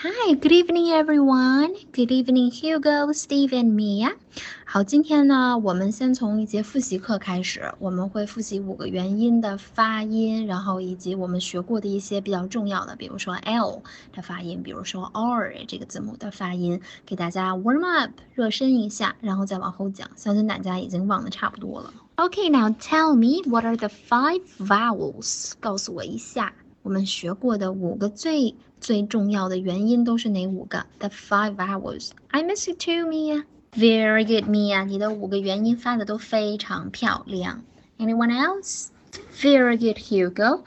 Hi, good evening, everyone. Good evening, Hugo, Steve, and Mia. 好，今天呢，我们先从一节复习课开始，我们会复习5个元音的发音，然后以及我们学过的一些比较重要的，比如说 L 的发音，比如说 R 这个字母的发音，给大家 warm up 热身一下，然后再往后讲。相信大家已经忘得差不多了。Okay, now tell me what are the 5 vowels？告诉我一下。我们学过的5个最重要的元音都是哪5个 ？The 5 vowels. I miss you too, Mia. Very good, Mia. 你的5个元音发的都非常漂亮。Anyone else? Very good, Hugo.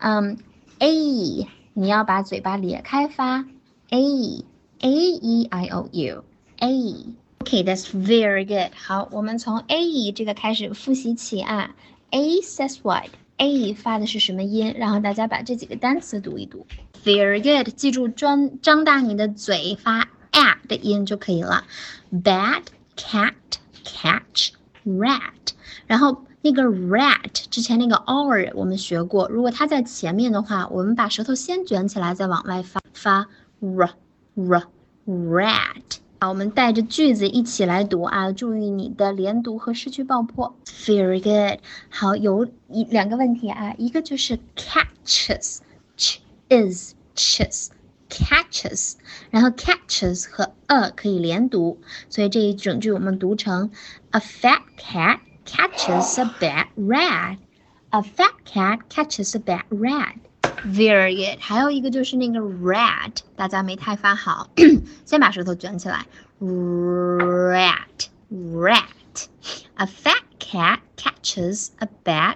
A 你要把嘴巴咧开发 A E I O U A。Okay, that's very good. 好，我们从 A 这个开始复习起啊。A says what?A 发的是什么音？然后大家把这几个单词读一读。Very good， 记住张大你的嘴，发 a 的音就可以了。Bat, cat, catch, rat。然后那个 rat 之前那个 r 我们学过，如果它在前面的话，我们把舌头先卷起来，再往外发 rat。好，我们带着句子一起来读啊，注意你的连读和失去爆破。Very good。好，有2个问题啊，一个就是 catches， is chess catches， 然后 catches 和 a 可以连读，所以这一整句我们读成 A fat cat catches a bad rat。 A fat cat catches a bad rat。Very good。 还有一个就是那个 rat， 大家没太发好，先把舌头卷起来 rat。 A fat cat catches a bad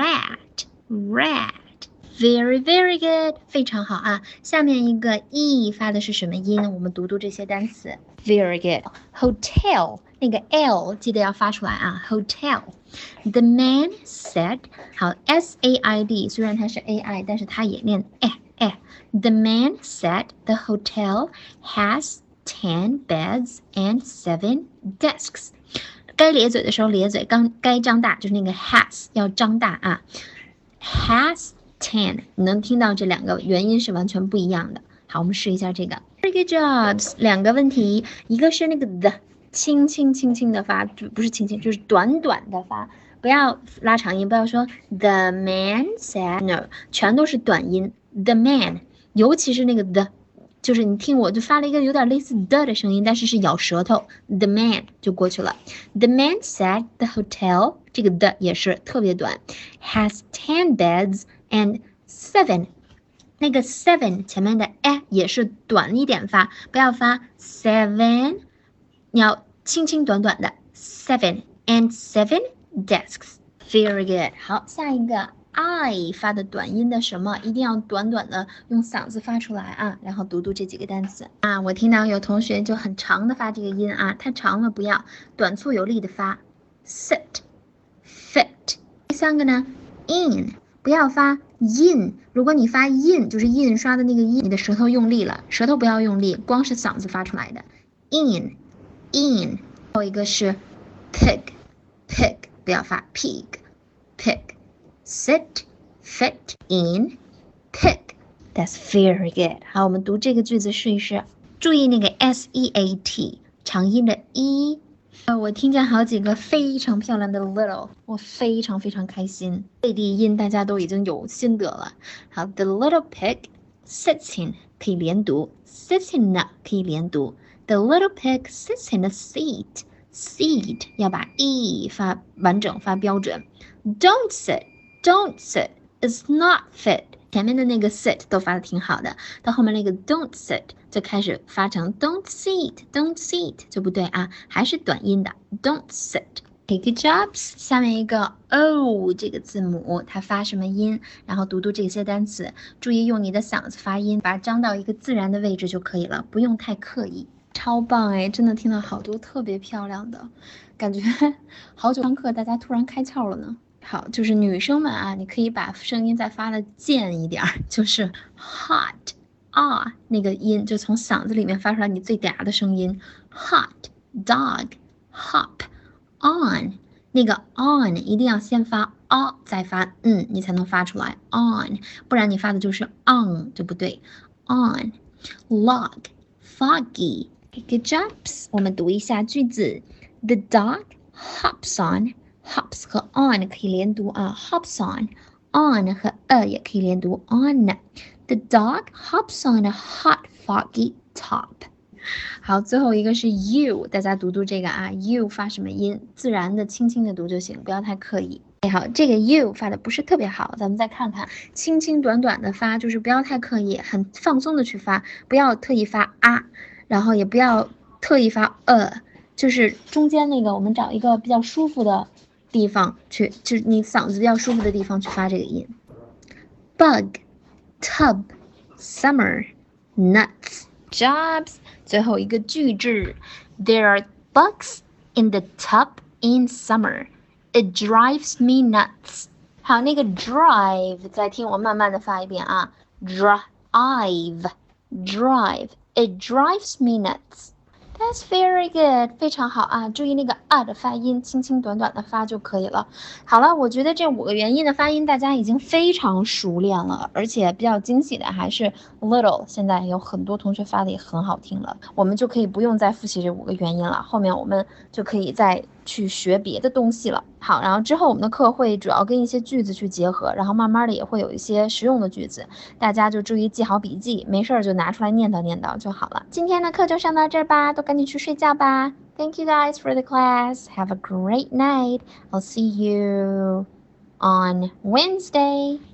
rat。 Very good， 非常好啊。下面一个 e 发的是什么音？我们读读这些单词。 Very good。 Hotel 那个 l 记得要发出来啊。 Hotel。The man said， 好 S-A-I-D 虽然它是 A-I 但是它也念 The man said the hotel has 10 beds and 7 desks。 该咧嘴的时候咧嘴，该张大就是那个 has 要张大啊。Has 10， 你能听到这2个元音是完全不一样的。好，我们试一下这个。Very good jobs。 2个问题，一个是那个 the 轻轻的发，不是轻轻，就是短的发，不要拉长音，不要说 the man said no， 全都是短音。 the man， 尤其是那个 the， 就是你听我就发了一个有点类似的声音，但是是咬舌头， the man 就过去了。 The man said the hotel， 这个 the 也是特别短， has 10 beds and 7， 那个 7 前面的 a 也是短一点发，不要发 7， 你要轻短的 7 and 7 desks。 Very good。 好，下一个 I 发的短音的什么一定要短的用嗓子发出来啊，然后读这几个单词啊。我听到有同学就很长的发这个音啊，太长了不要，短促有力的发 sit fit。 第3个呢 in， 不要发 in， 如果你发 in 就是印刷的那个印，你的舌头用力了，舌头不要用力，光是嗓子发出来的 in。 还有一个是 pig， 不要发 pig。 sit fit in pig。 That's very good。 好，我们读这个句子试一试，注意那个 S-E-A-T 长音的 e。 我听见好几个非常漂亮的 little， 我非常开心。内地音大家都已经有心得了。好， The little pig sits in 可以连读， sits in a 可以连读。 The little pig sits in a seat， seat 要把 e 发完整发标准。 Don't sit is not fit， 前面的那个 sit 都发的挺好的，到后面那个 don't sit 就开始发成 don't sit 就不对啊，还是短音的 don't sit。Good jobs。 下面一个 o 这个字母它发什么音，然后读这些单词，注意用你的嗓子发音，把它张到一个自然的位置就可以了，不用太刻意。超棒哎，真的听到好多特别漂亮的，感觉好久上课大家突然开窍了呢。好，就是女生们啊，你可以把声音再发的尖一点，就是 hot 啊那个音就从嗓子里面发出来你最嗲的声音 hot dog hop on， 那个 on 一定要先发 a 再发你才能发出来 on， 不然你发的就是 on 就不对 on。 log, foggy. Good jobs. 我们读一下句子。The dog hops on. Hops 和 on 可以连读啊 ，hops on 和也可以连读 on。The dog hops on a hot, foggy top. 好，最后一个是 you， 大家读读这个啊 ，you 发什么音？自然的、轻轻的读就行，不要太刻意。好，这个 you 发的不是特别好，咱们再看看，轻轻短短的发，就是不要太刻意，很放松的去发，不要特意发啊，然后也不要特意发就是中间那个，我们找一个比较舒服的地方去，就是你嗓子比较舒服的地方去发这个音。Bug, tub, summer, nuts, jobs。最后一个句子 ，There are bugs in the tub in summer. It drives me nuts. 好，那个 drive 再听我慢慢的发一遍啊 ，drive. It drives me nuts. That's very good， 非常好啊！注意那个的发音，轻轻短短的发就可以了。好了，我觉得这5个元音的发音大家已经非常熟练了，而且比较惊喜的还是 little， 现在有很多同学发的也很好听了，我们就可以不用再复习这5个元音了，后面我们就可以再去学别的东西了。好，然后之后我们的课会主要跟一些句子去结合，然后慢慢的也会有一些实用的句子，大家就注意记好笔记，没事就拿出来念叨就好了。今天的课就上到这儿吧，都赶紧去睡觉吧。Thank you guys for the class. Have a great night. I'll see you on Wednesday.